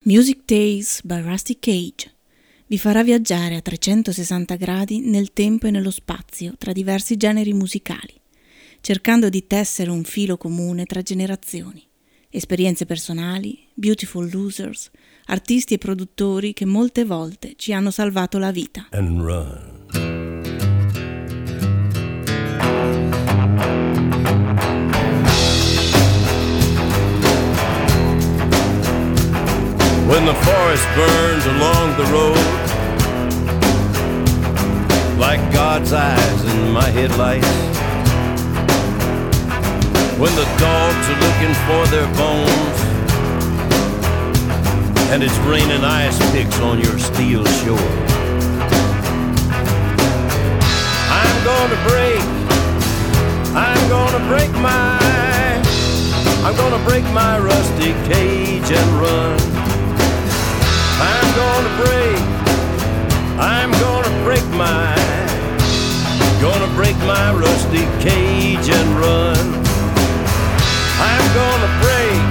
Music Days by Rusty Cage vi farà viaggiare a 360 gradi nel tempo e nello spazio tra diversi generi musicali, cercando di tessere un filo comune tra generazioni, esperienze personali, beautiful losers, artisti e produttori che molte volte ci hanno salvato la vita. And run. When the forest burns along the road, like God's eyes in my headlights, when the dogs are looking for their bones, and it's raining ice picks on your steel shore, I'm gonna break my rusty cage and run. I'm gonna break my rusty cage and run. I'm gonna break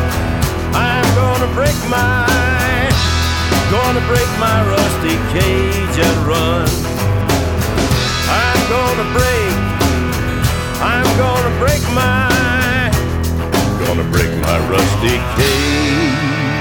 my rusty cage and run. I'm gonna break my rusty cage.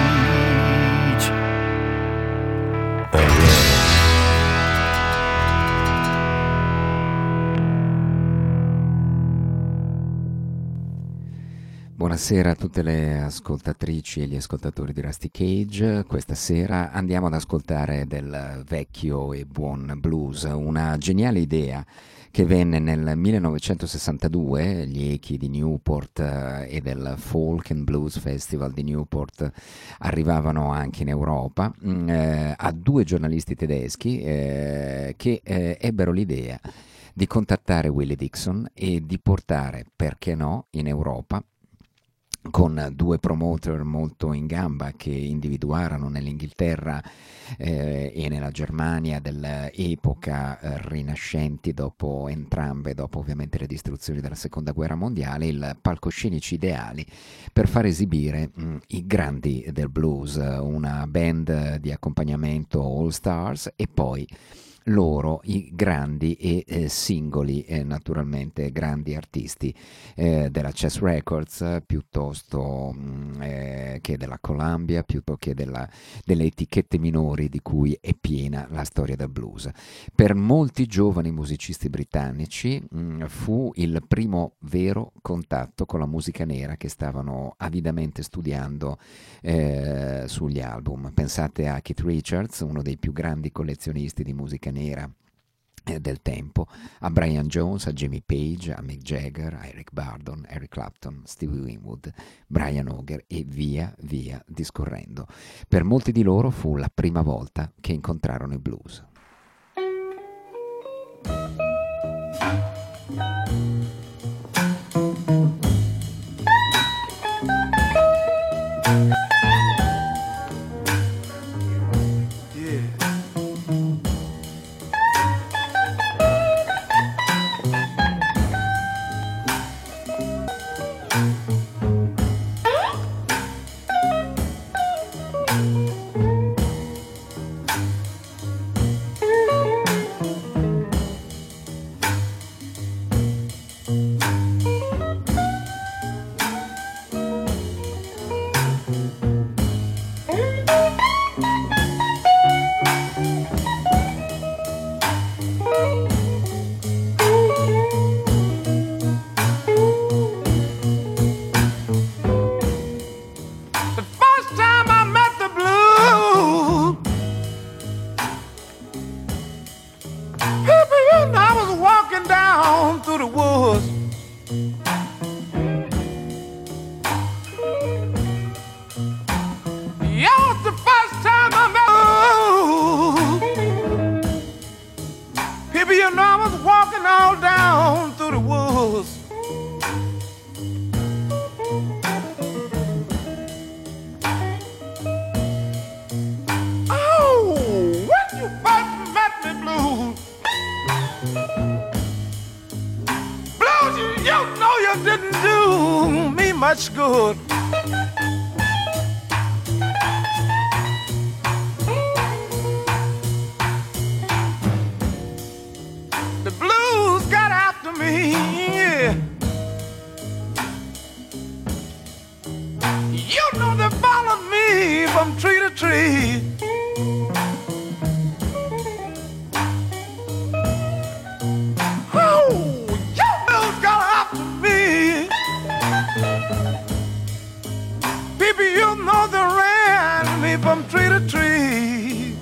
Buonasera a tutte le ascoltatrici e gli ascoltatori di Rusty Cage. Questa sera andiamo ad ascoltare del vecchio e buon blues, una geniale idea che venne nel 1962, gli echi di Newport e del Folk and Blues Festival di Newport arrivavano anche in Europa, a due giornalisti tedeschi che ebbero l'idea di contattare Willie Dixon e di portare, perché no, in Europa, con due promoter molto in gamba che individuarono nell'Inghilterra e nella Germania dell'epoca rinascenti dopo ovviamente le distruzioni della seconda guerra mondiale, il palcoscenici ideali per far esibire i grandi del blues, una band di accompagnamento all stars e poi loro, i grandi e singoli, naturalmente grandi artisti della Chess Records, piuttosto che della Columbia, piuttosto che delle etichette minori di cui è piena la storia del blues. Per molti giovani musicisti britannici fu il primo vero contatto con la musica nera che stavano avidamente studiando sugli album. Pensate a Keith Richards, uno dei più grandi collezionisti di musica nera del tempo, a Brian Jones, a Jimmy Page, a Mick Jagger, a Eric Burdon, Eric Clapton, Stevie Winwood, Brian Auger e via via discorrendo. Per molti di loro fu la prima volta che incontrarono il blues. Didn't do me much good. from tree to tree.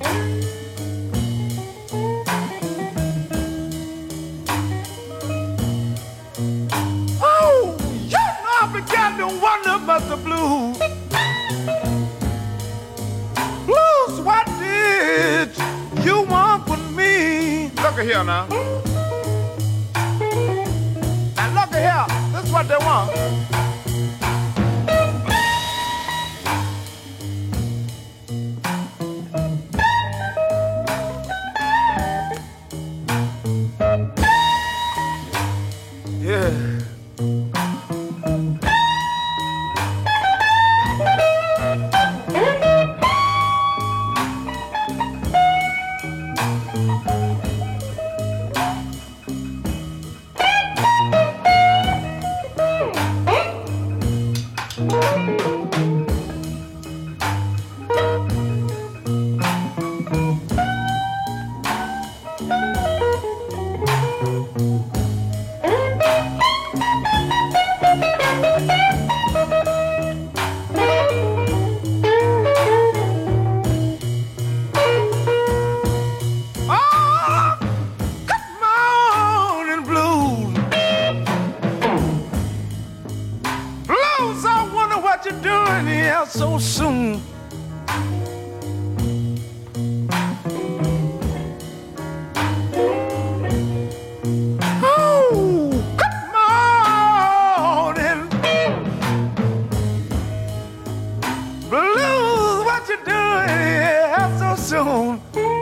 Oh, you know I began to wonder about the blues. Blues, what did you want with me? Look at here now. And look at here, this is what they want. So soon. Oh, come on and blues, what you doing here so soon?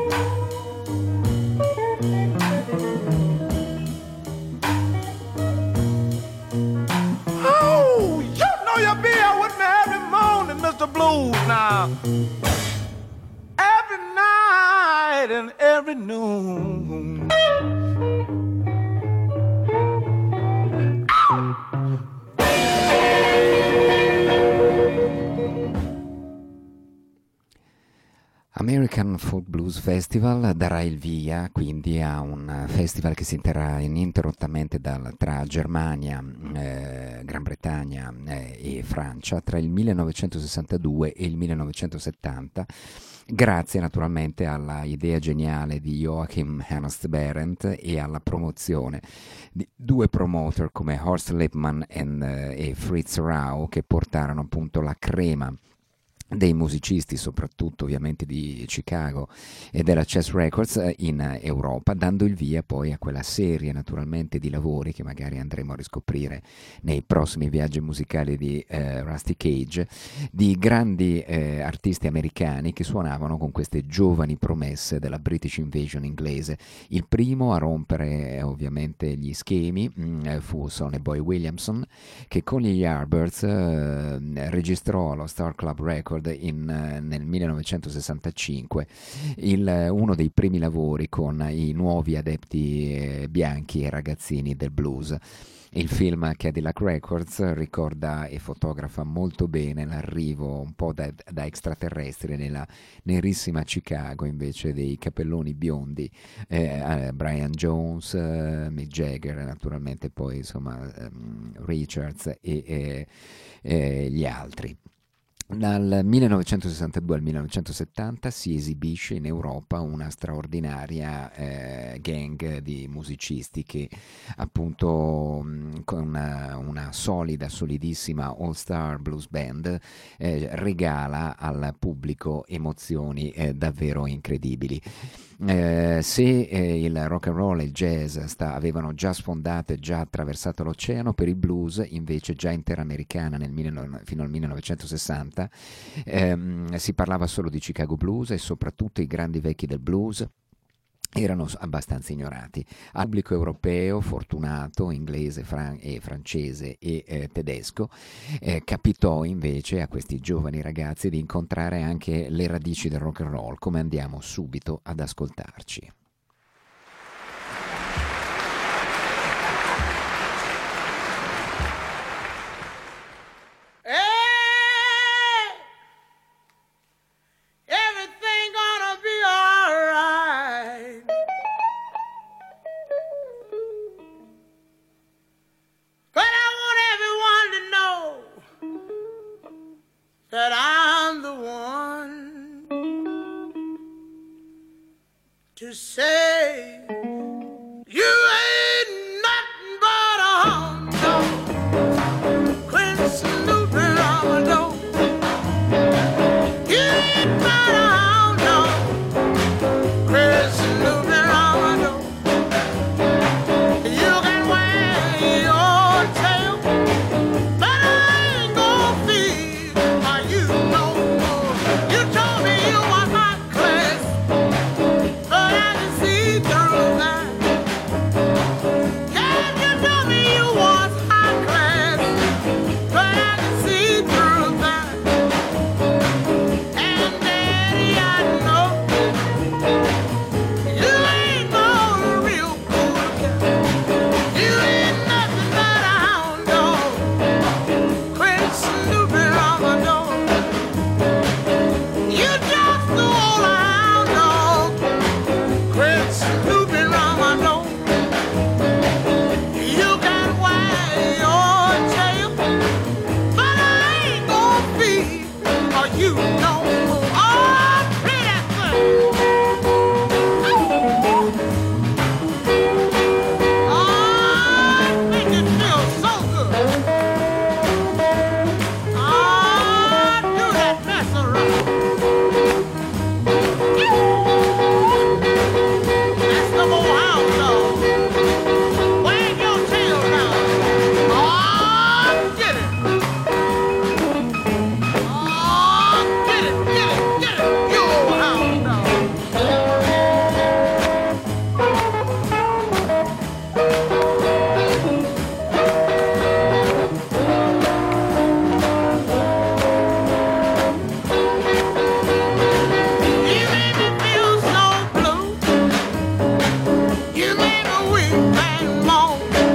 Oh, you know you'll be here with me every morning, Mr. Blues, now. Every night and every noon. American Folk Blues Festival darà il via quindi a un festival che si terrà ininterrottamente tra Germania, Gran Bretagna e Francia tra il 1962 e il 1970, grazie naturalmente alla idea geniale di Joachim Ernst Behrendt e alla promozione di due promoter come Horst Lippmann e Fritz Rau, che portarono appunto la crema dei musicisti, soprattutto ovviamente di Chicago e della Chess Records in Europa, dando il via poi a quella serie naturalmente di lavori che magari andremo a riscoprire nei prossimi viaggi musicali di Rusty Cage, di grandi artisti americani che suonavano con queste giovani promesse della British Invasion inglese. Il primo a rompere ovviamente gli schemi fu Sonny Boy Williamson, che con gli Yardbirds registrò allo Star Club Record nel 1965 uno dei primi lavori con i nuovi adepti bianchi e ragazzini del blues. Il film Cadillac Records ricorda e fotografa molto bene l'arrivo un po' da extraterrestri nella nerissima Chicago, invece dei capelloni biondi, Brian Jones, Mick Jagger, naturalmente poi insomma Richards e gli altri. Dal 1962 al 1970 si esibisce in Europa una straordinaria gang di musicisti che appunto con una solida, solidissima all-star blues band regala al pubblico emozioni davvero incredibili. Se il rock and roll e il jazz avevano già sfondato e già attraversato l'oceano, per il blues invece già interamericana fino al 1960 si parlava solo di Chicago Blues e soprattutto i grandi vecchi del blues erano abbastanza ignorati. Al pubblico europeo, fortunato, inglese, francese e tedesco, capitò invece a questi giovani ragazzi di incontrare anche le radici del rock and roll, come andiamo subito ad ascoltarci. That I'm the one to say you ain't nothing but a hound dog. Quit snooping on my door. You ain't but a hound dog. Quit snooping on my door. You can wag your tail, but I ain't gonna feed on you no more. You told me you was hot class, but I can see through that. Yeah, you told me you was high class, but I can see through that. And Daddy, I know you ain't no real cool guy. You ain't nothing but a hound dog. Quit snooping on my door. You just the old hound dog. Quit snooping on my door. You can wag your tail, but I ain't gonna feed or you no more. Oh, play that thing. Oh, make it feel so good. Oh, do that mess around. That's the old hound dog. Wag your tail now. Oh, get it. Oh, get it, get it, get it. You old hound dog. You made me feel so blue. You made me weep and moan.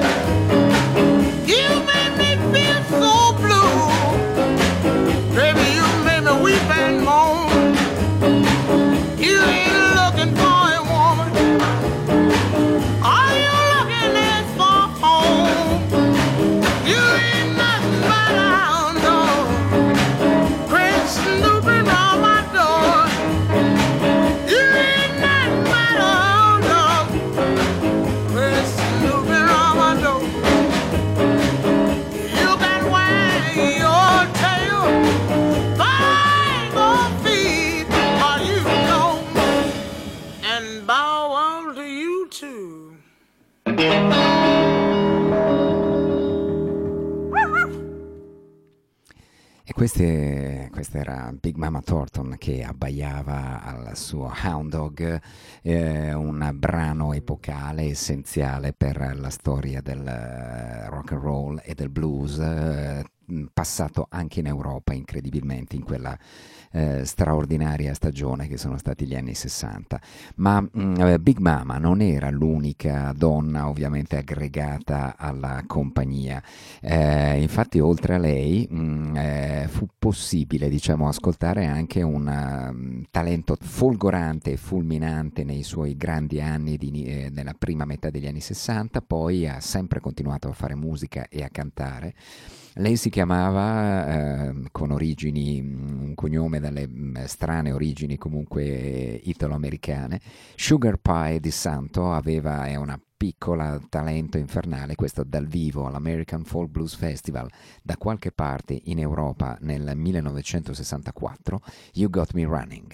You made me feel so blue. Baby, you made me weep and moan. You ain't looking for a woman. All you looking is for home. You ain't nothing but a hound dog. Quit snooping on my door. You ain't nothing but a hound dog. Quit snooping on my door. You can wag your tail, but I ain't gonna feed or you no more. And bow wow to you too. E questa era Big Mama Thornton che abbaiava al suo Hound Dog, un brano epocale essenziale per la storia del rock and roll e del blues, passato anche in Europa incredibilmente in quella straordinaria stagione che sono stati gli anni 60. Ma Big Mama non era l'unica donna ovviamente aggregata alla compagnia, infatti oltre a lei fu possibile, diciamo, ascoltare anche un talento folgorante e fulminante nei suoi grandi anni nella prima metà degli anni 60, poi ha sempre continuato a fare musica e a cantare. Lei si chiamava, con origini, un cognome dalle strane origini comunque italo-americane, Sugar Pie di Santo, è una piccola talento infernale, questo dal vivo all'American Folk Blues Festival da qualche parte in Europa nel 1964, You Got Me Running.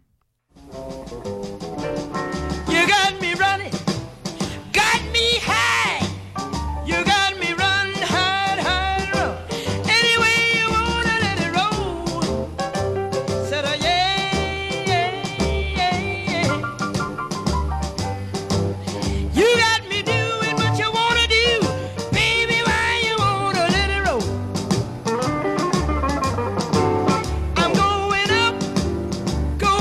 You got me running, got me high. You got me run, hard, hard, run. Any way you wanna let it roll. Said, oh, yeah, yeah, yeah, yeah. You got me doing what you wanna do. Baby, why you wanna let it roll? I'm going up,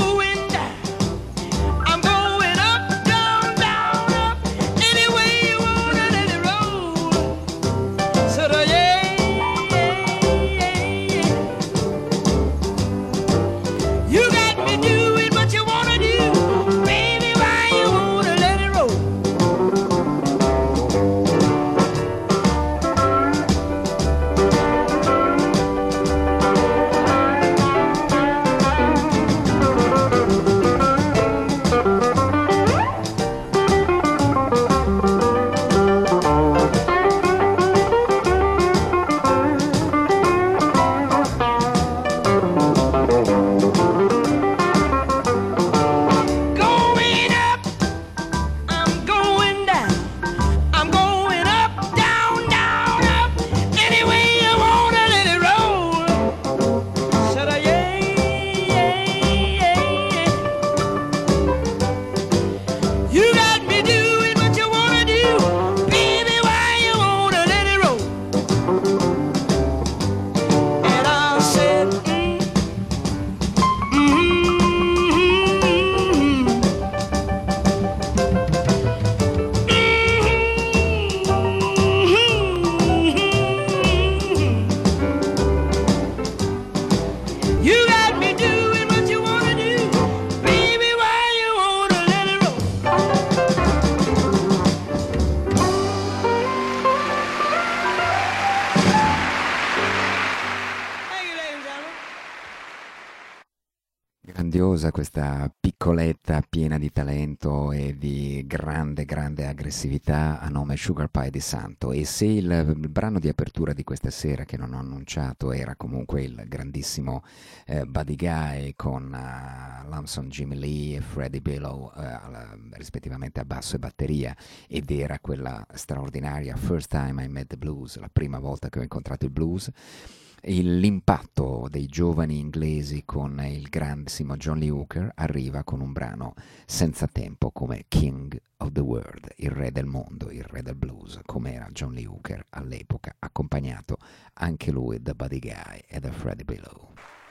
talentuosa, questa piccoletta piena di talento e di grande, grande aggressività a nome Sugar Pie di Santo. E se il brano di apertura di questa sera, che non ho annunciato, era comunque il grandissimo Buddy Guy con Lamson Jimmy Lee e Freddie Billow rispettivamente a basso e batteria, ed era quella straordinaria First Time I Met the Blues, la prima volta che ho incontrato il blues, l'impatto dei giovani inglesi con il grandissimo John Lee Hooker arriva con un brano senza tempo come King of the World, il re del mondo, il re del blues, come era John Lee Hooker all'epoca, accompagnato anche lui da Buddy Guy e da Freddie Billow.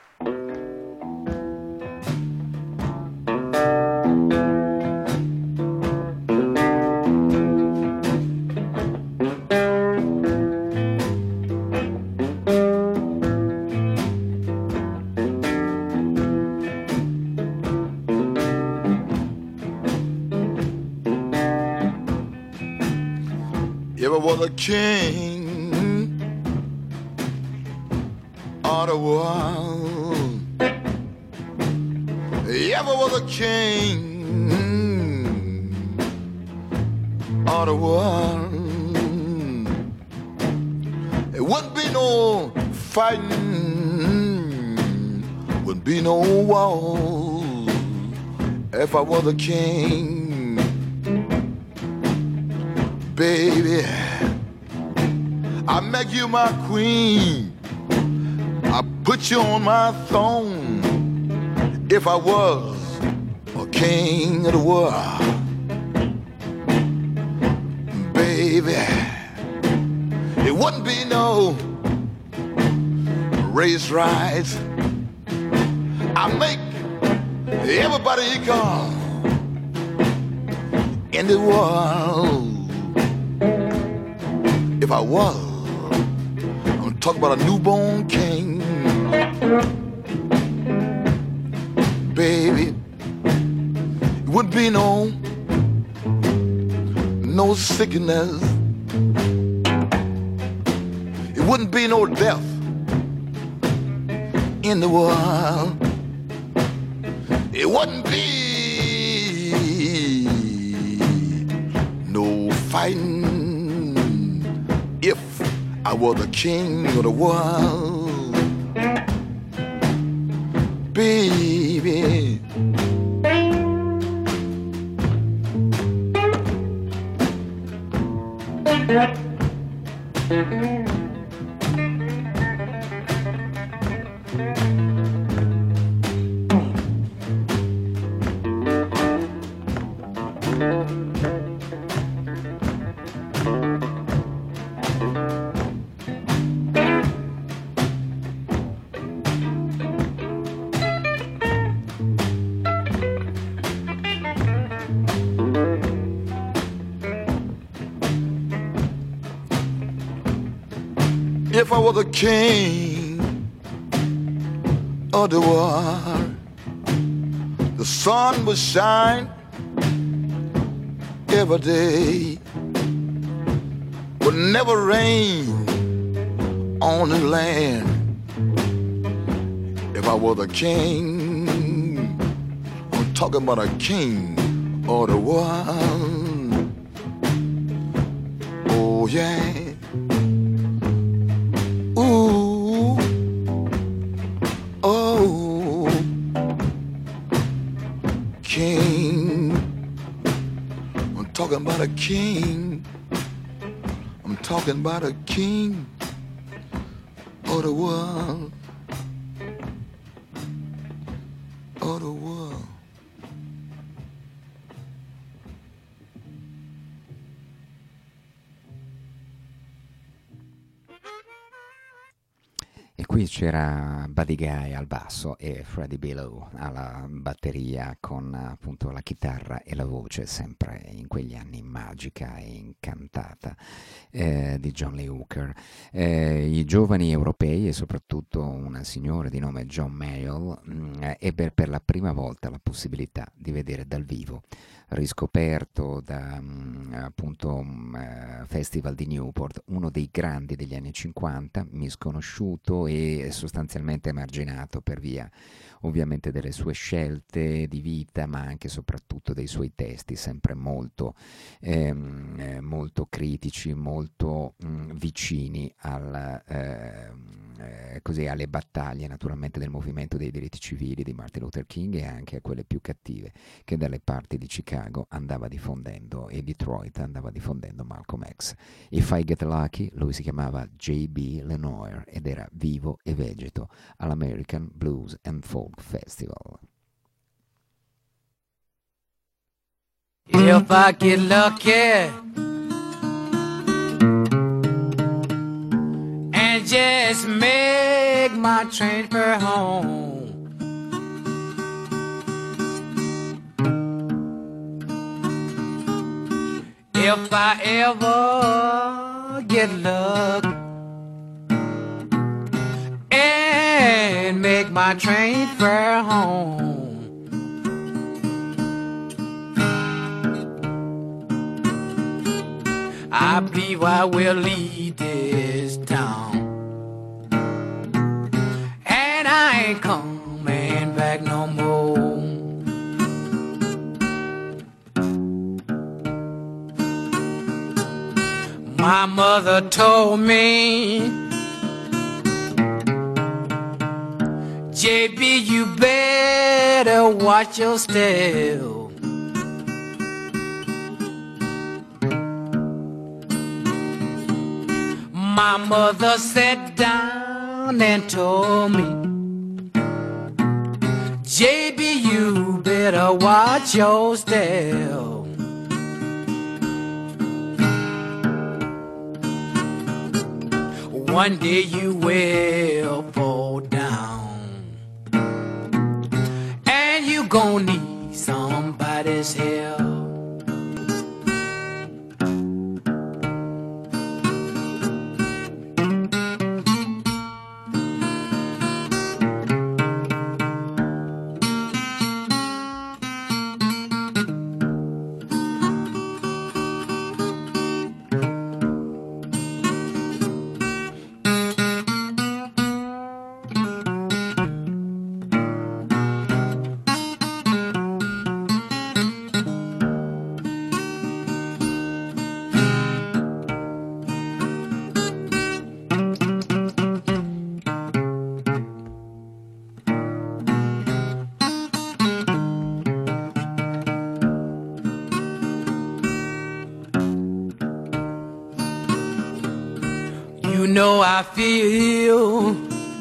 You ever was a king of the world. You ever was a king of the world. It wouldn't be no fighting, wouldn't be no war if I was a king. Baby, I make you my queen, I put you on my throne. If I was a king of the world, baby, it wouldn't be no race riots. I make everybody equal in the world. If I was, I'm talking about a newborn king. Baby, it wouldn't be no sickness. It wouldn't be no death in the world. It wouldn't be no fighting if I was the king of the world, baby. If I was the king of the world, the sun would shine every day, would never rain on the land. If I was a king, I'm talking about a king of the world. Oh yeah. Ooh, oh, king. I'm talking about a king. I'm talking about a king of the world. Of the world. E qui c'era Buddy Guy al basso e Freddie Billow alla batteria, con appunto la chitarra e la voce sempre in quegli anni magica e incantata di John Lee Hooker. I giovani europei e soprattutto un signore di nome John Mayall ebbe per la prima volta la possibilità di vedere dal vivo riscoperto da appunto Festival di Newport, uno dei grandi degli anni 50, misconosciuto e sostanzialmente emarginato per via ovviamente delle sue scelte di vita, ma anche e soprattutto dei suoi testi, sempre molto, molto critici, molto vicini così, alle battaglie naturalmente del movimento dei diritti civili di Martin Luther King e anche a quelle più cattive che dalle parti di Chicago andava diffondendo e Detroit andava diffondendo Malcolm X. If I Get Lucky, lui si chiamava J.B. Lenoir ed era vivo e vegeto all'American Blues and Folk Festival. If I get lucky and just make my transfer home, if I ever get lucky and make my transfer home, I believe I will leave this town, and I ain't coming back no more. My mother told me, JB, you better watch your step. My mother sat down and told me, JB, you better watch your step. One day you will fall down, and you gon' need somebody's help. You know I feel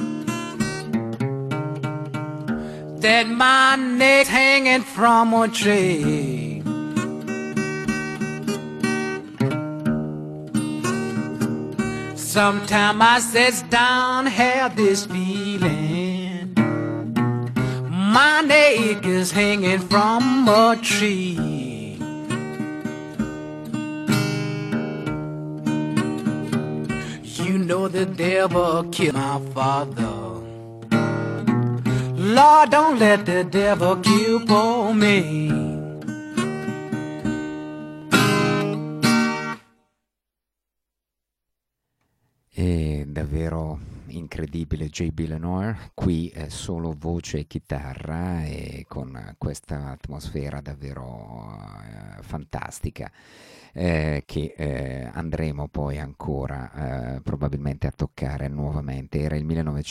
that my neck's hanging from a tree. Sometime I sits down, have this feeling my neck is hanging from a tree. You know the devil killed my father. Lord, don't let the devil kill for me. È davvero incredibile J.B. Lenoir, qui è solo voce e chitarra e con questa atmosfera davvero fantastica. Che andremo poi ancora probabilmente a toccare nuovamente. Era il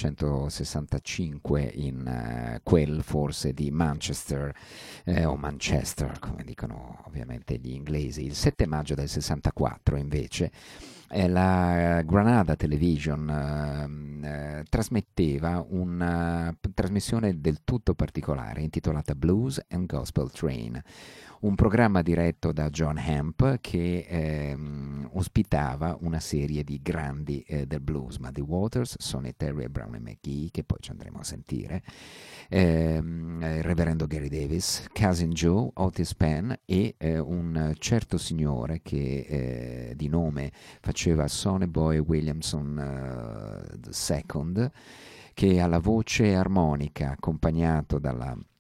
1965 in quel forse di Manchester o Manchester come dicono ovviamente gli inglesi. Il 7 maggio del 64 invece la Granada Television trasmetteva una trasmissione del tutto particolare intitolata Blues and Gospel Train, un programma diretto da John Hemp che ospitava una serie di grandi del blues, Muddy Waters, Sonny Terry e Brownie McGhee, che poi ci andremo a sentire, il reverendo Gary Davis, Cousin Joe, Otis Penn e un certo signore che di nome faceva Sonny Boy Williamson II, che alla voce armonica accompagnato dalla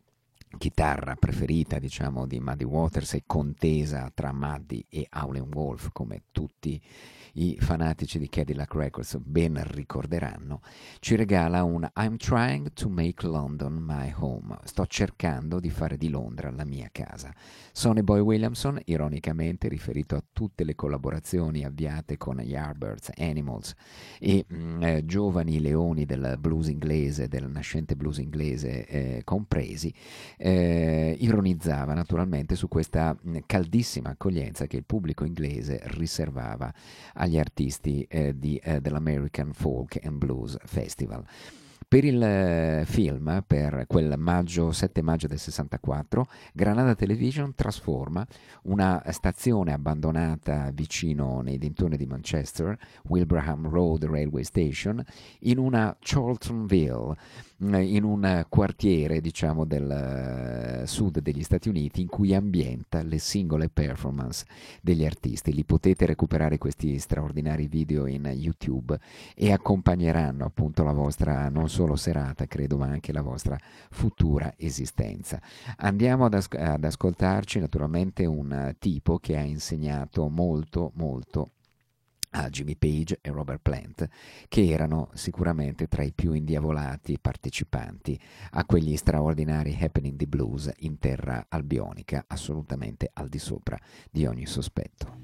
chitarra preferita, diciamo, di Muddy Waters e contesa tra Muddy e Howlin' Wolf, come tutti i fanatici di Cadillac Records ben ricorderanno, ci regala un I'm trying to make London my home. Sto cercando di fare di Londra la mia casa. Sonny Boy Williamson, ironicamente riferito a tutte le collaborazioni avviate con Yardbirds, Animals e giovani leoni del blues inglese, del nascente blues inglese compresi, ironizzava naturalmente su questa caldissima accoglienza che il pubblico inglese riservava agli artisti dell'American Folk and Blues Festival. Per il film, per quel 7 maggio del 64, Granada Television trasforma una stazione abbandonata vicino nei dintorni di Manchester, Wilbraham Road Railway Station, in una Charltonville, in un quartiere, diciamo, del sud degli Stati Uniti, in cui ambienta le singole performance degli artisti. Li potete recuperare questi straordinari video in YouTube e accompagneranno appunto la vostra non solo serata, credo, ma anche la vostra futura esistenza. Andiamo ad ascoltarci naturalmente un tipo che ha insegnato molto a Jimmy Page e Robert Plant, che erano sicuramente tra i più indiavolati partecipanti a quegli straordinari happening di blues in terra albionica, assolutamente al di sopra di ogni sospetto.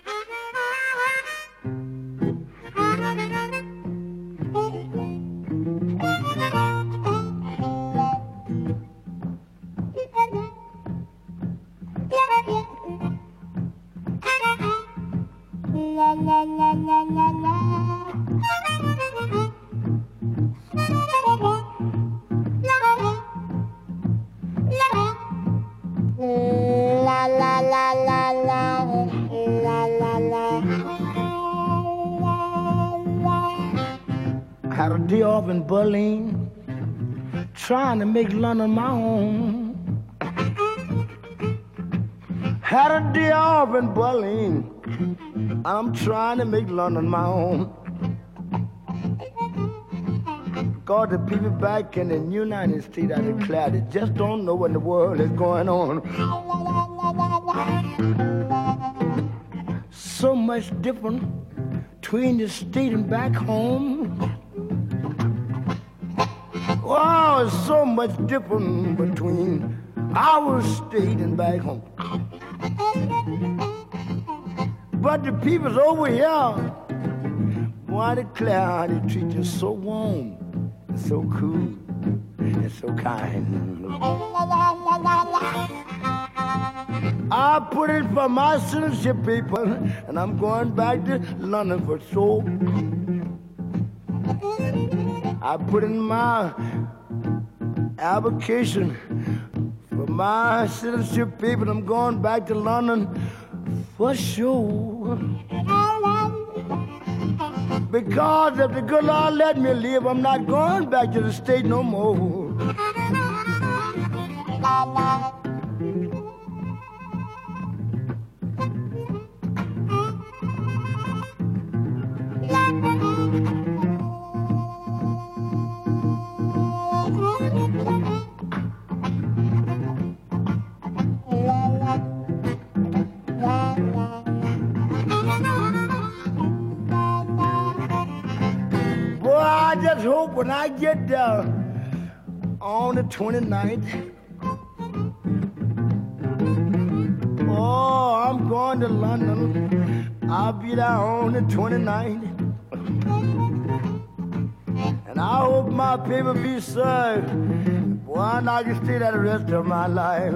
La la la la la la. La la la la la. La la la. Had a day off in Berlin, trying to make London my home. Had a day off in Berlin, I'm trying to make London my home. Because the people back in the United States, I declare, they just don't know what in the world is going on. So much different between the state and back home. Wow, so much different between our state and back home. But the people's over here, boy, I declare, they treat you so warm, and so cool, and so kind. I put it for my citizenship people, and I'm going back to London for sure. I put in my application for my citizenship people, I'm going back to London for sure. Because if the good Lord let me live, I'm not going back to the state no more. I just hope when I get there on the 29th, oh, I'm going to London. I'll be there on the 29th. And I hope my paper be served. Boy, I can stay there the rest of my life.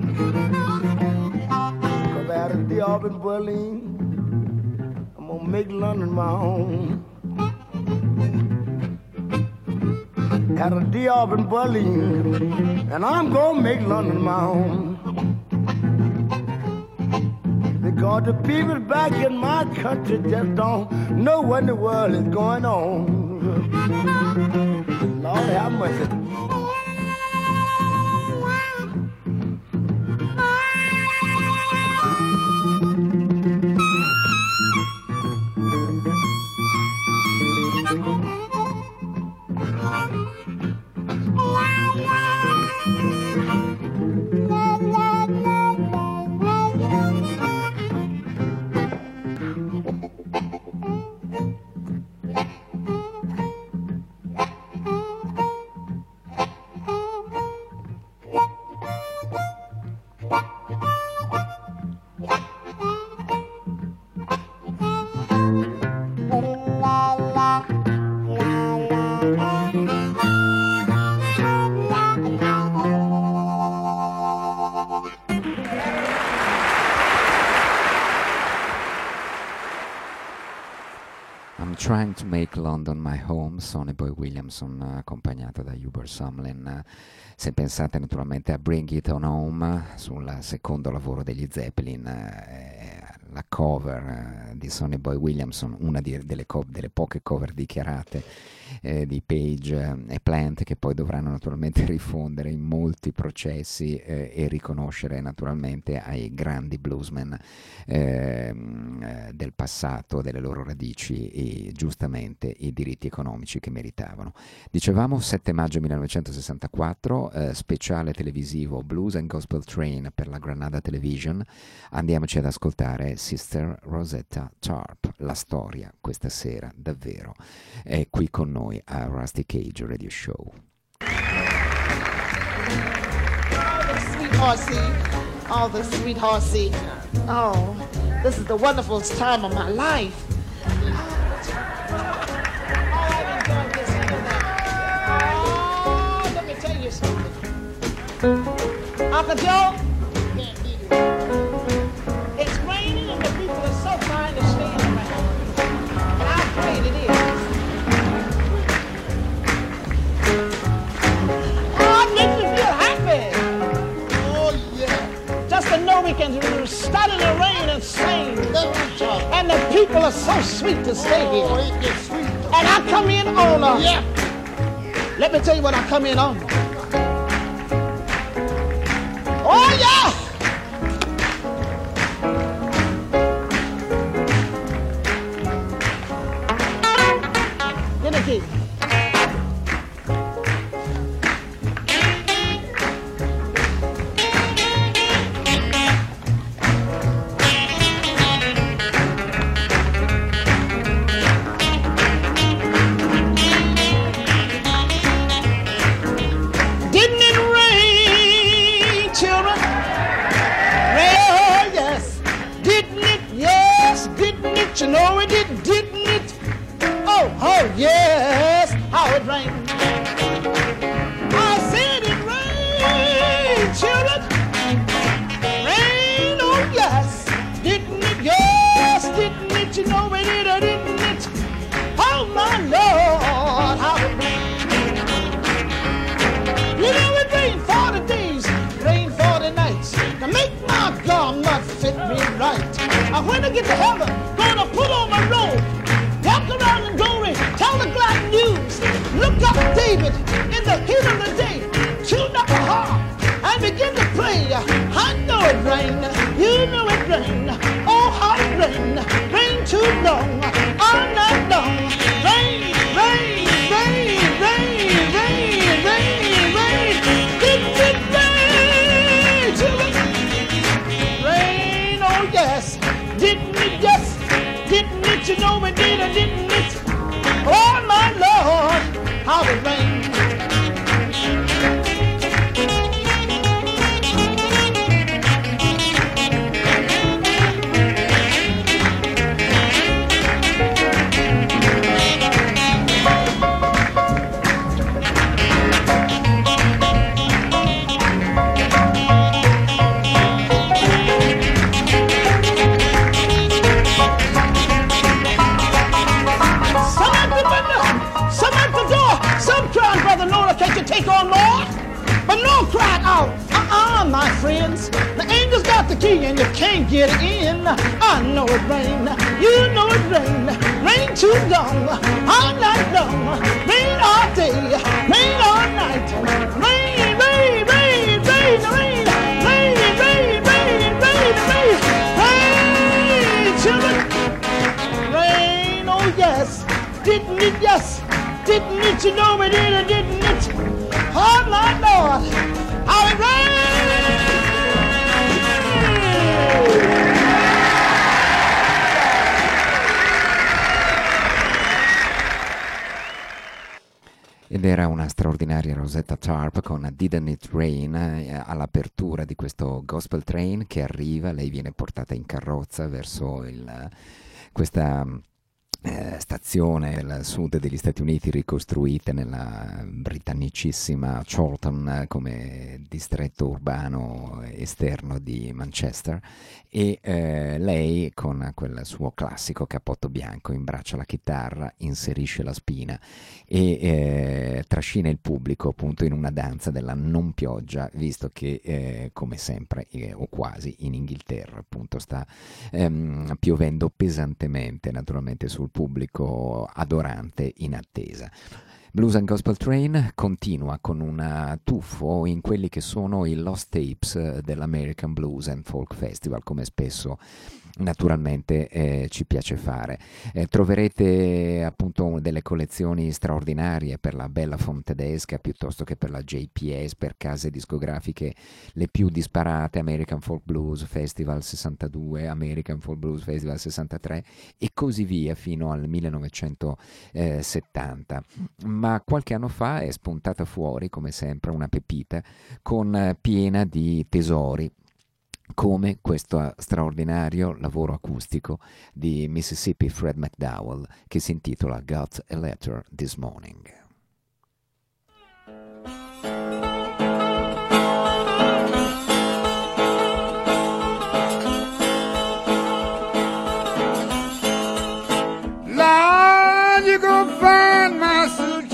Cause I had a day off in Berlin. I'm gonna make London my home. Had a day off in Berlin, and I'm gonna make London my home. Because the people back in my country just don't know what in the world is going on. Lord have mercy. Trying to Make London My Home, Sonny Boy Williamson accompagnato da Hubert Sumlin. Se pensate naturalmente a Bring It On Home, sul secondo lavoro degli Zeppelin, la cover di Sonny Boy Williamson, una delle poche cover dichiarate di Page e Plant, che poi dovranno naturalmente rifondere in molti processi e riconoscere naturalmente ai grandi bluesmen del passato, delle loro radici, e giustamente i diritti economici che meritavano. Dicevamo 7 maggio 1964, speciale televisivo Blues and Gospel Train per la Granada Television. Andiamoci ad ascoltare Sister Rosetta Tharpe. La storia questa sera davvero è qui con noi a Rusty Cage Radio Show. All the sweethearts see. Oh, this is the wonderful time of my life. I've enjoyed this and that. Oh, let me tell you something. Uncle Joe, it's raining and the people are so fine to stay around. And I'm afraid it is. Oh, it makes me feel happy. Just to know we can start in the rain and sing. And the people are so sweet to stay here. And I come in on let me tell you what I come in on. Oh yeah! Get the key. You know it did, didn't it? Oh, yes, how it rained. I said it rained, children. Rain, oh, yes, didn't it? Yes, didn't it? You know it did, or didn't it? Oh, my Lord, how it rained. You know it rained 40 days, rained 40 nights to make my garment fit me right. When I get to heaven, gonna put on my robe, walk around in glory, tell the glad news. Look up David in the heat of the day, tune up a harp and begin to play. I know it rained, you know it rained. Oh, how it rained, rained too long, all night long. Rain, rain, rain, rain, rain, rain, rain. Didn't it rain, children? Rain, oh yes. Didn't it, yes, didn't it, you know it did, or didn't it? Oh, my Lord, how it rained. Can't you take on more? But no cried out, my friends. The angel's got the key and you can't get in. I know it rained, you know it rained. Rain too long, all night long. Rain all day, rain all night. Rain, rain, rain, rain, rain. Rain, rain, rain, rain, rain. Rain, children. Rain, oh yes. Didn't it, yes. Didn't it, you know it did, or didn't it? Oh, my Lord, how it rained! Ed era una straordinaria Rosetta Tharpe con Didn't It Rain all'apertura di questo Gospel Train che arriva. Lei viene portata in carrozza verso questa stazione al sud degli Stati Uniti ricostruite nella britannicissima Chorlton come distretto urbano esterno di Manchester, e lei con quel suo classico cappotto bianco imbraccia la chitarra, inserisce la spina e trascina il pubblico appunto in una danza della non pioggia, visto che come sempre o quasi in Inghilterra appunto sta piovendo pesantemente naturalmente sul pubblico adorante in attesa. Blues and Gospel Train continua con un tuffo in quelli che sono i Lost Tapes dell'American Blues and Folk Festival, come spesso naturalmente ci piace fare. Troverete appunto delle collezioni straordinarie per la Bella Font tedesca piuttosto che per la JPS, per case discografiche le più disparate: American Folk Blues Festival 62, American Folk Blues Festival 63 e così via fino al 1970. Ma qualche anno fa è spuntata fuori, come sempre, una pepita piena di tesori, come questo straordinario lavoro acustico di Mississippi Fred McDowell che si intitola Got a Letter This Morning. Lord, you go find my suitcase.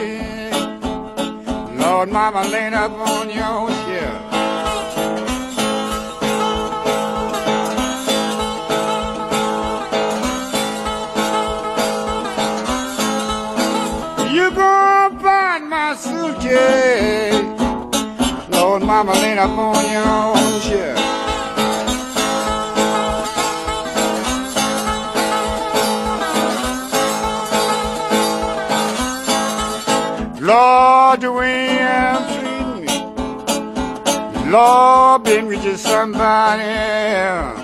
Lord, mama laid up on your shelf. You go find my suitcase. Lord, mama laid up on your shelf. Lord, the way I'm treating me, Lord, been with you somebody else.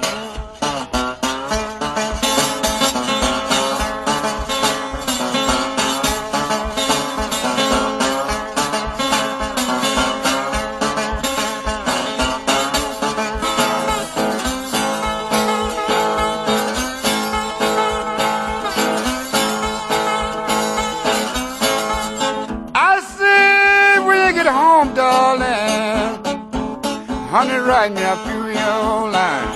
Honey, write me a few of your lines.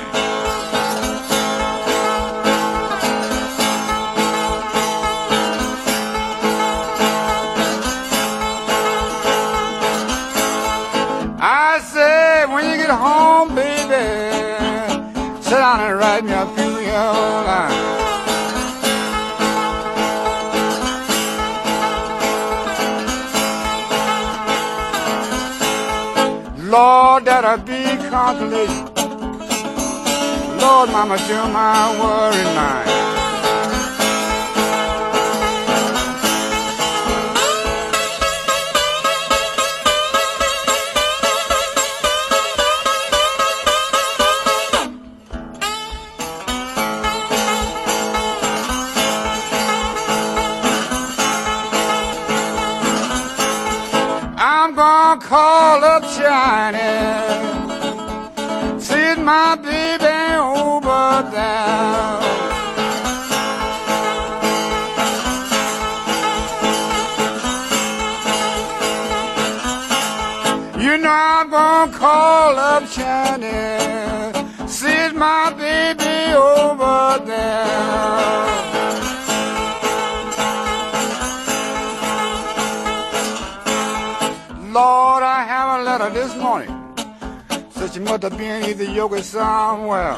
I said, when you get home, baby, sit down and write me a few of your lines. Lord, that'll be consolation. Lord, mama, to my worried mind. I'm gonna call up China, see my baby over there. You know I'm gonna call up China, see my baby over there. Lord, I have a letter this morning. Said she must have been either yoga somewhere.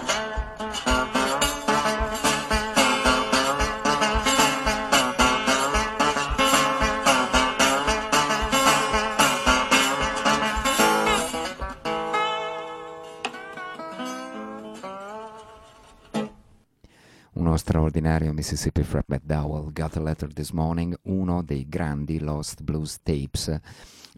Uno straordinario Mississippi Fred McDowell, Got a Letter This Morning, uno dei grandi Lost Blues Tapes.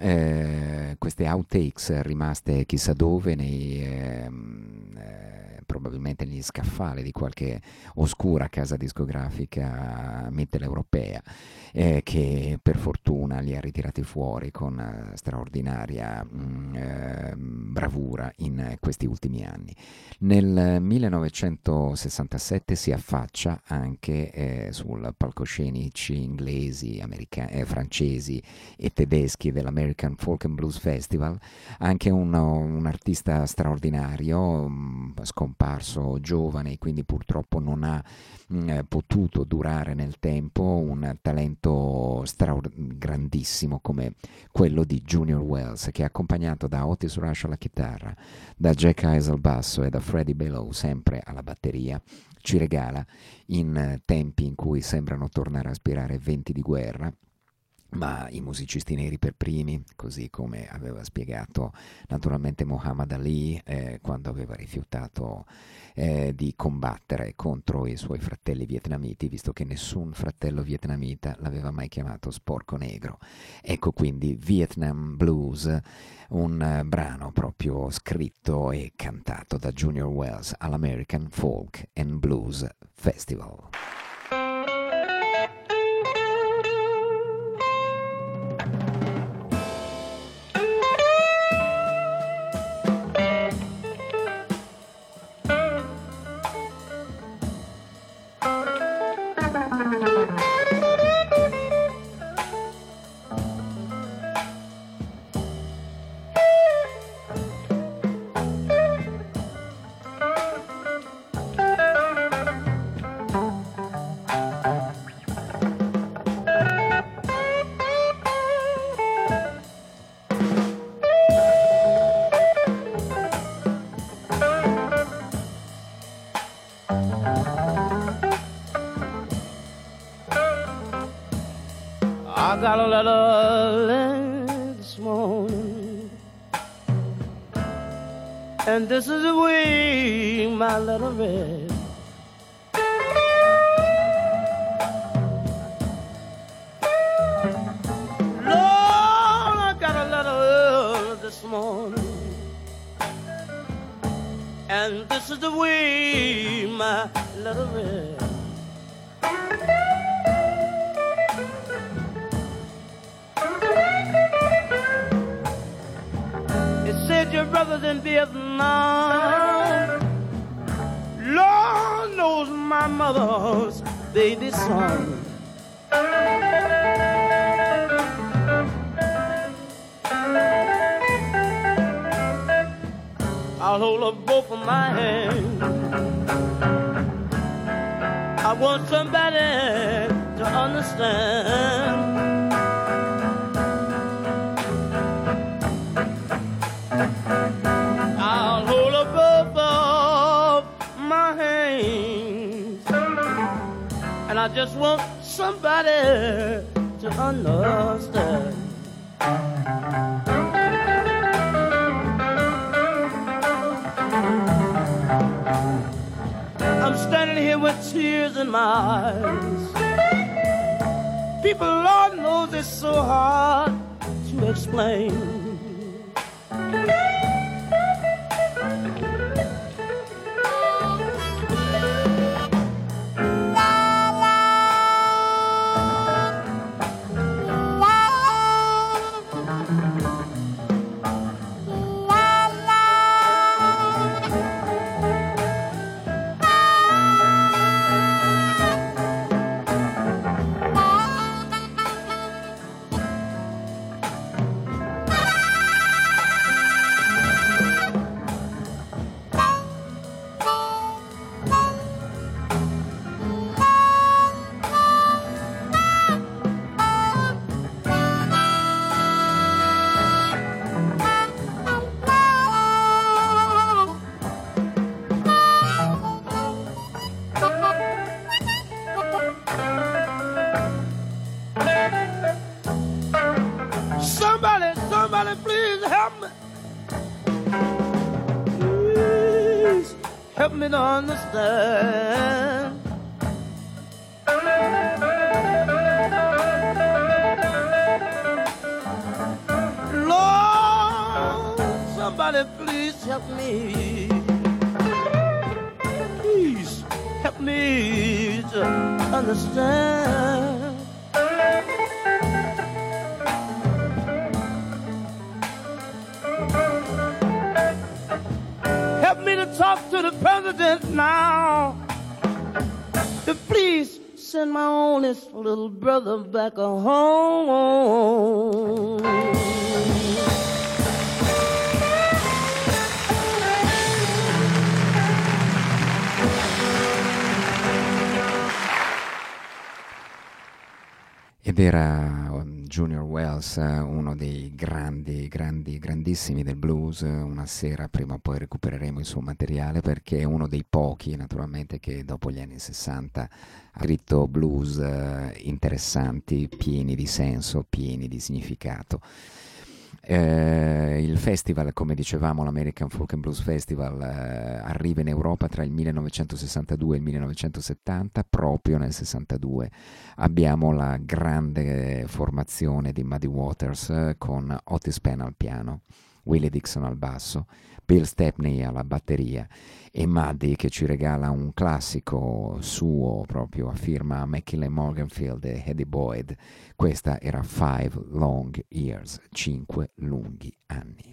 Queste outtakes rimaste chissà dove nei probabilmente negli scaffali di qualche oscura casa discografica mitteleuropea, che per fortuna li ha ritirati fuori con straordinaria bravura in questi ultimi anni. Nel 1967 si affaccia anche sul palcoscenici inglesi, francesi e tedeschi dell'American Folk and Blues Festival, anche un artista straordinario, scomparso giovane e quindi purtroppo non ha potuto durare nel tempo, un talento grandissimo come quello di Junior Wells, che è accompagnato da Otis Rush alla chitarra, da Jack Eyes al basso e da Freddie Below sempre alla batteria, ci regala in tempi in cui sembrano tornare a aspirare venti di guerra, ma i musicisti neri per primi, così come aveva spiegato naturalmente Muhammad Ali quando aveva rifiutato di combattere contro i suoi fratelli vietnamiti, visto che nessun fratello vietnamita l'aveva mai chiamato sporco negro. Ecco quindi Vietnam Blues, un brano proprio scritto e cantato da Junior Wells all'American Folk and Blues Festival. I got a letter this morning, and this is the way my letter read. Lord, I got a letter this morning, and this is the way my letter read. Your brothers in Vietnam, Lord knows my mother's baby son. I'll hold up both of my hands. I want somebody to understand. I'll hold up both of my hands, and I just want somebody to understand. I'm standing here with tears in my eyes. People, Lord knows it's so hard to explain. Somebody please help me. Please help me to understand. Lord, somebody please help me. help me to understand. Help me to talk to the president now, to please send my oldest little brother back home. Ed era Junior Wells, uno dei grandissimi del blues. Una sera prima o poi recupereremo il suo materiale, perché è uno dei pochi naturalmente che dopo gli anni 60 ha scritto blues interessanti, pieni di senso, pieni di significato. Il festival, come dicevamo, l'American Folk and Blues Festival, arriva in Europa tra il 1962 e il 1970. Proprio nel 62 abbiamo la grande formazione di Muddy Waters con Otis Penn al piano, Willie Dixon al basso, Bill Stepney alla batteria e Muddy che ci regala un classico suo proprio a firma McKinley Morganfield e Eddie Boyd. Questa era 5 Long Years, 5 lunghi anni.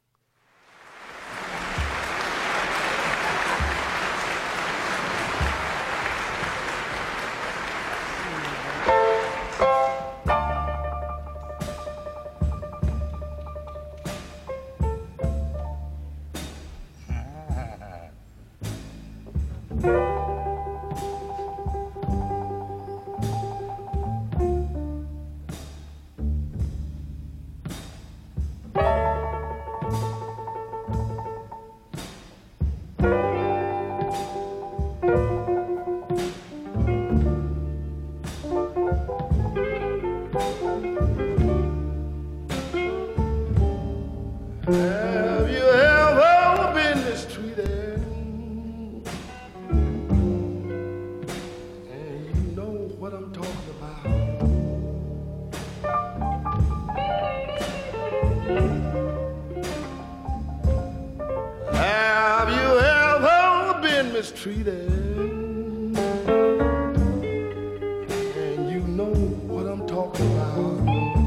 Have you ever been mistreated? And you know what I'm talking about. Have you ever been mistreated? And you know what I'm talking about.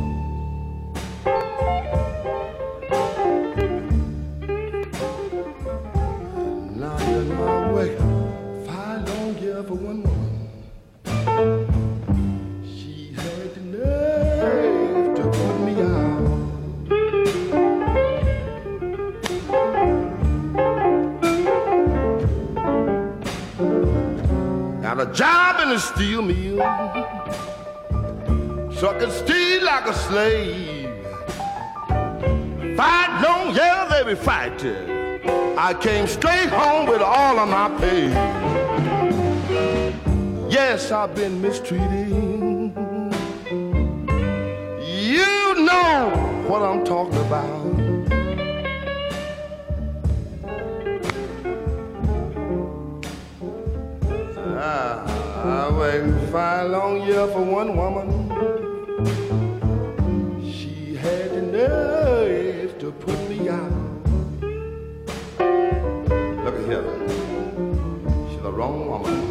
For one woman, she had the nerve to put me out. Got a job in a steel mill, sucking steel like a slave. 5 long years they be fighting. I came straight home with all of my pay. Yes, I've been mistreated. You know what I'm talking about. I waited 5 long years for one woman. She had the nerve to put me out. Look at here. She's the wrong woman.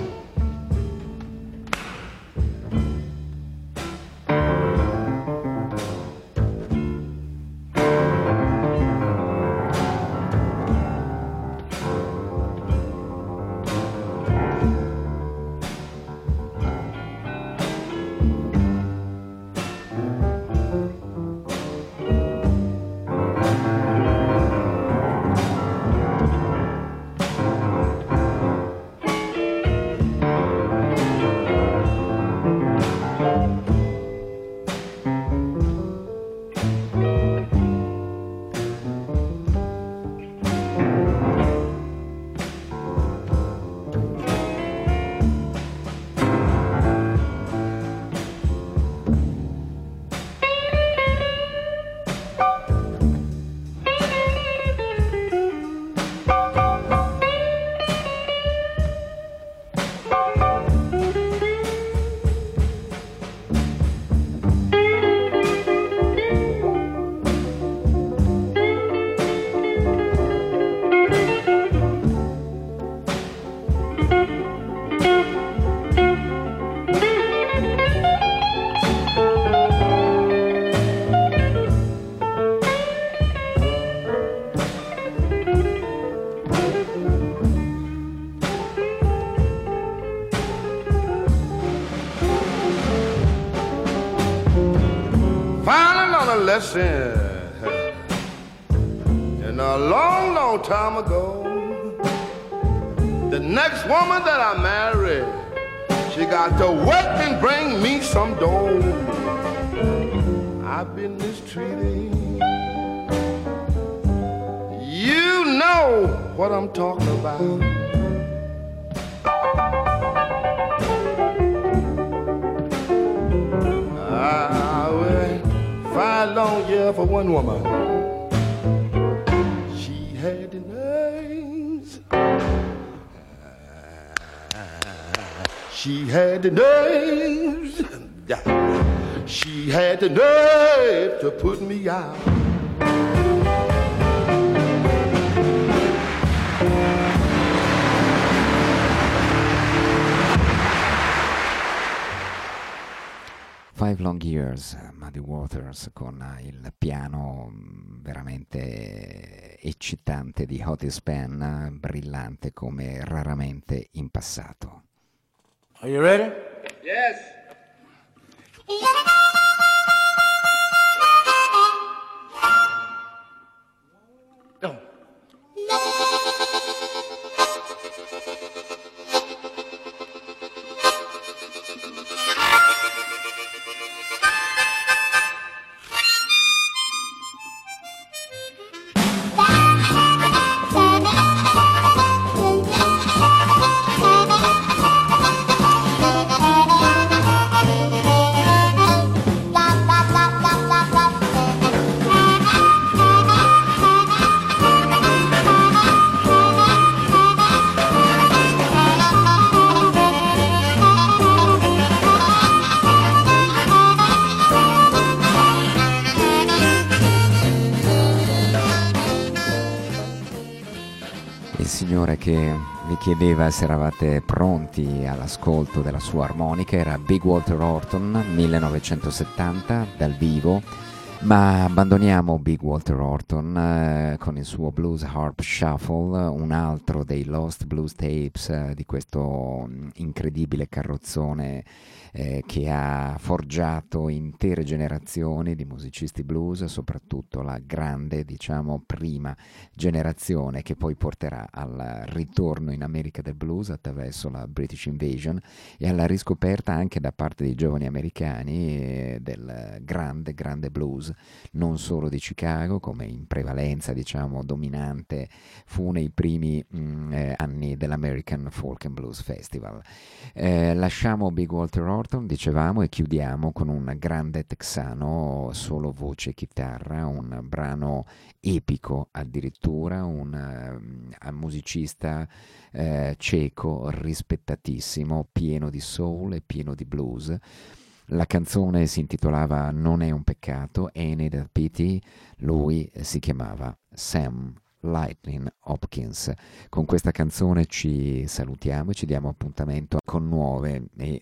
listen. And a long, long time ago, the next woman that I married, she got to work and bring me some dough. I've been mistreated. You know what I'm talking about. I went 5 long years for one woman. She had the names. She had the nerves. She had the nerve to put me out. Five Long Years, Muddy Waters, con il piano veramente eccitante di Otis Penn, brillante come raramente in passato. Are you ready? Yes. Go. Che vi chiedeva se eravate pronti all'ascolto della sua armonica era Big Walter Horton, 1970 dal vivo, ma abbandoniamo Big Walter Horton con il suo Blues Harp Shuffle, un altro dei Lost Blues Tapes di questo incredibile carrozzone che ha forgiato intere generazioni di musicisti blues, soprattutto la grande, diciamo, prima generazione che poi porterà al ritorno in America del blues attraverso la British Invasion e alla riscoperta anche da parte dei giovani americani del grande blues, non solo di Chicago, come in prevalenza, diciamo, dominante fu nei primi anni dell'American Folk and Blues Festival. Lasciamo Big Walter Horton, dicevamo, e chiudiamo con un grande texano, solo voce e chitarra, un brano epico addirittura, un musicista ceco rispettatissimo, pieno di soul e pieno di blues. La canzone si intitolava Non è un peccato, Ain't It a Pity, lui si chiamava Sam Lightning Hopkins. Con questa canzone ci salutiamo e ci diamo appuntamento con nuovi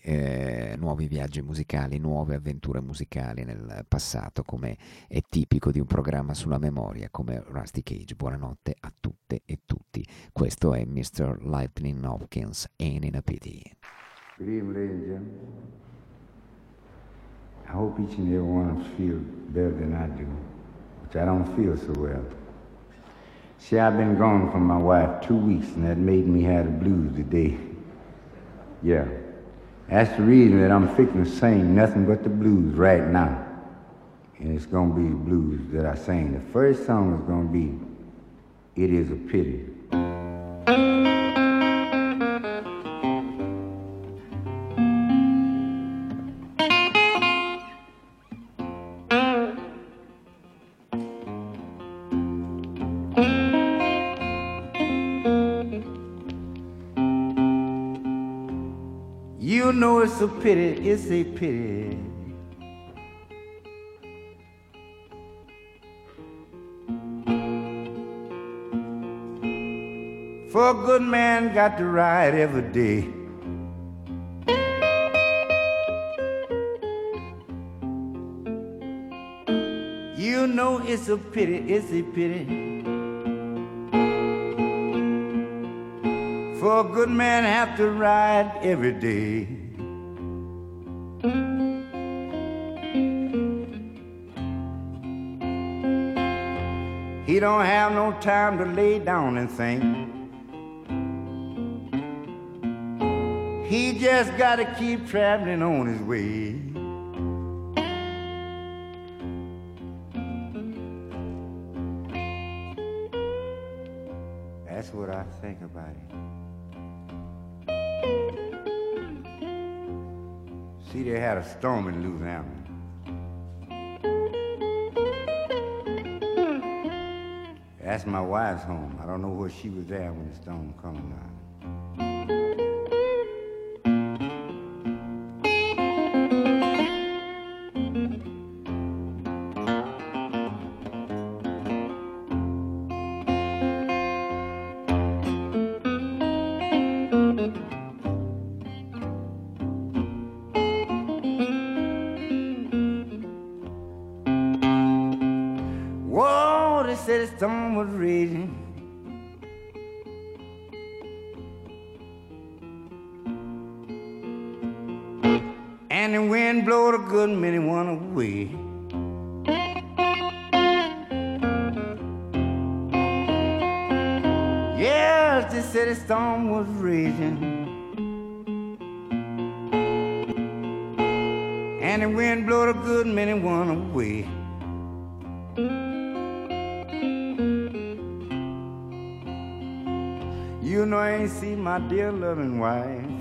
viaggi musicali, nuove avventure musicali nel passato, come è tipico di un programma sulla memoria come Rusty Cage. Buonanotte a tutte e tutti. Questo è Mr. Lightning Hopkins, Ain't It a Pity. Good evening, ladies and gentlemen. I hope each and every one of us feel better than I do, which I don't feel so well. See, I've been gone from my wife 2 weeks, and that made me have the blues today. Yeah. That's the reason that I'm fixing to sing nothing but the blues right now. And it's going to be the blues that I sing. The first song is going to be It Is a Pity. You know it's a pity, it's a pity. For a good man got to ride every day. You know it's a pity, it's a pity. For a good man have to ride every day. He don't have no time to lay down and think. He just gotta keep traveling on his way. That's what I think about it. See, they had a storm in Louisiana. That's my wife's home. I don't know where she was there when the storm come down. Said the storm was raging. And the wind blowed a good many one away. Yes, they said the storm was raging. And the wind blowed a good many one away. You know I ain't seen my dear loving wife,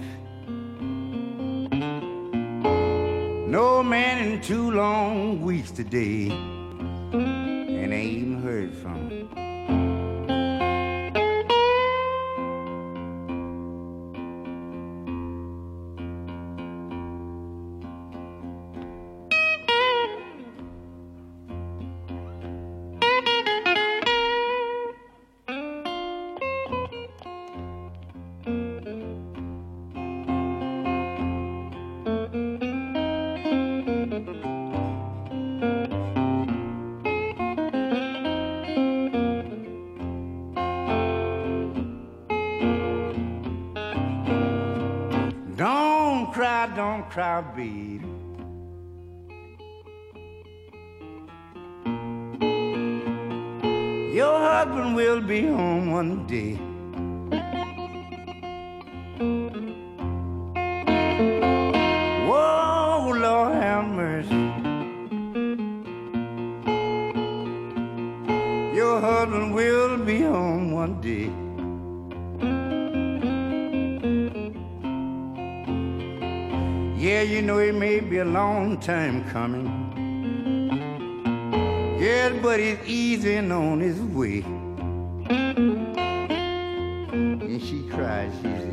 no man in 2 long weeks today, and I ain't even heard from her. Don't cry, baby. Your husband will be home one day. Whoa, Lord have mercy. Your husband will be home one day. Yeah, you know it may be a long time coming. Yeah, but he's easing on his way. And she cries, she said,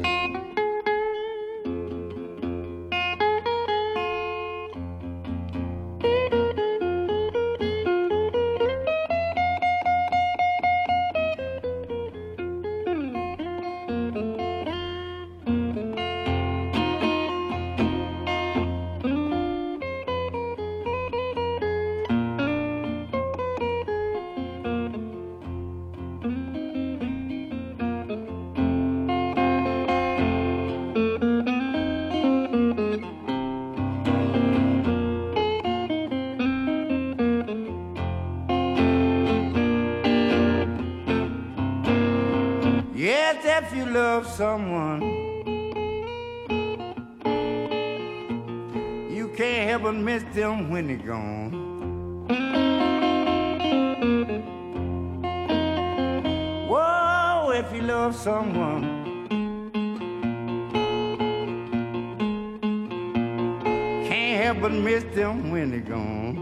if you love someone, you can't help but miss them when they're gone. Whoa, if you love someone, can't help but miss them when they're gone.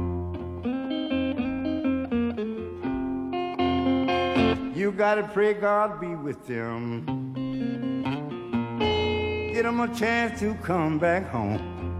You gotta pray God be with them. Get them a chance to come back home.